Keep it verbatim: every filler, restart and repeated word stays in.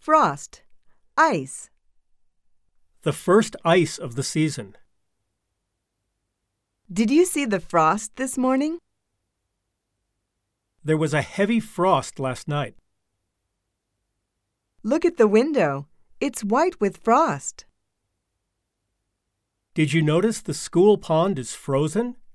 frost, ice. The first ice of the season. Did you see the frost this morning? There was a heavy frost last night. Look at the window. It's white with frost. Did you notice the school pond is frozen?